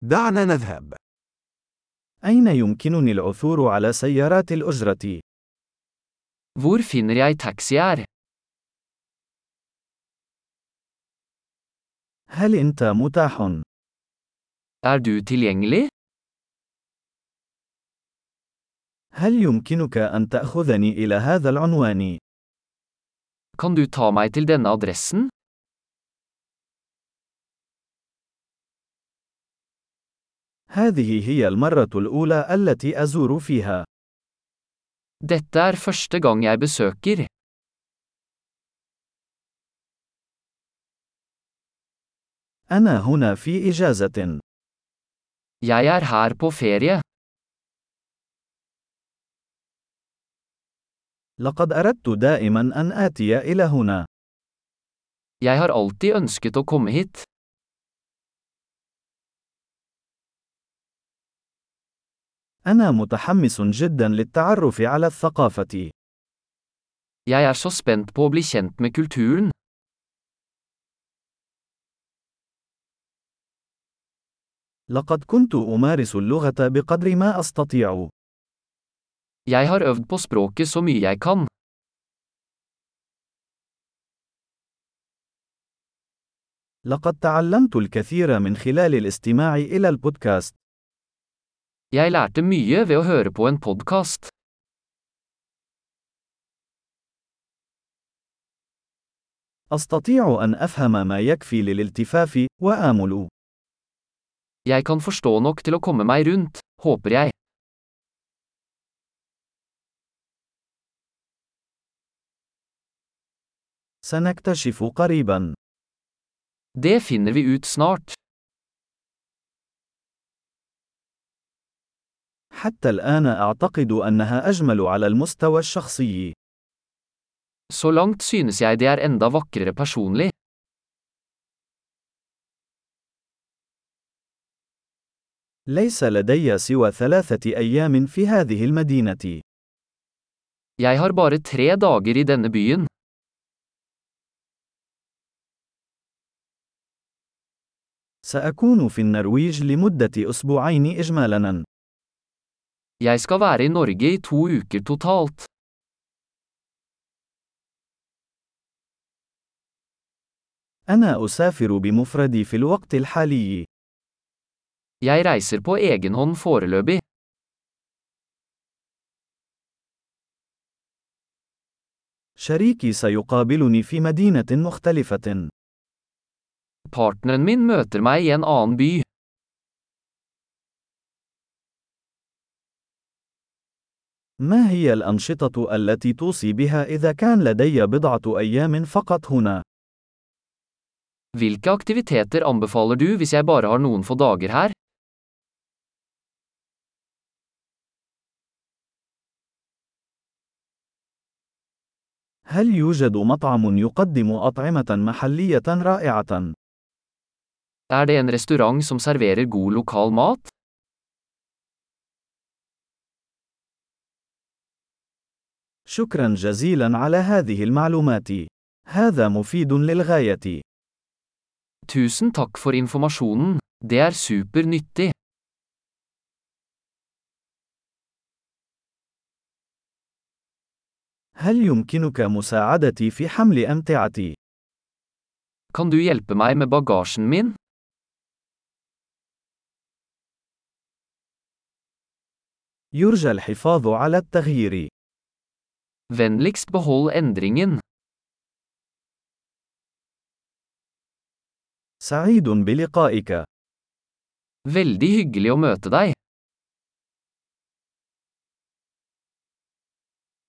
دعنا نذهب. أين يمكنني العثور على سيارات الأجرة؟ Hvor finner jeg taxier? هل أنت متاح؟ Er du tilgjengelig? هل يمكنك أن تأخذني إلى هذا العنوان؟ Kan du ta meg til denne adressen? هذه هي المرة الأولى التي أزور فيها. Dette er første gang jeg besøker. أنا هنا في إجازة. Jeg er her på ferie. لقد أردت دائما أن آتي إلى هنا. Jeg har alltid ønsket å komme hit. أنا متحمس جدا للتعرف على الثقافة. Jeg er så spent på å bli kjent med kulturen. لقد كنت أمارس اللغة بقدر ما أستطيع. Jeg har øvd på språket så mye jeg kan. لقد تعلمت الكثير من خلال الاستماع إلى البودكاست. Jeg lærte mye ved å høre på en podcast. أستطيع أن أفهم ما يكفي للالتفاف، وآمل. Jeg kan forstå nok til å komme meg rundt, håper jeg. سنكتشف قريبا. Det finner vi ut snart. حتى الآن أعتقد أنها أجمل على المستوى الشخصي. Så langt synes jeg det er enda vakrere personlig. ليس لدي سوى 3 أيام في هذه المدينة. Jeg har bare 3 dager i denne byen. سأكون في النرويج لمدة أسبوعين إجمالاً. Jeg skal være i Norge i 2 uker totalt. أنا أسافر بمفردي في الوقت الحالي. Jeg reiser på egen hånd foreløpig. شريكي سيقابلني في مدينة مختلفة. Partneren min møter meg i en annen by. ما هي الأنشطة التي توصي بها إذا كان لدي بضعة أيام فقط هنا؟ Hvilke aktiviteter anbefaler du hvis jeg bare har noen få dager her? هل يوجد مطعم يقدم أطعمة محلية رائعة؟ Er det en restaurant som serverer god lokal mat? شكرا جزيلا على هذه المعلومات. هذا مفيد للغاية. Tusen takk for informasjonen. Det er super nyttig. هل يمكنك مساعدتي في حمل أمتعتي؟ Kan du hjelpe meg med bagasjen min? يرجى الحفاظ على التغيير. Vennligst behold endringen. سعيد بلقائك. Veldig hyggelig å møte deg.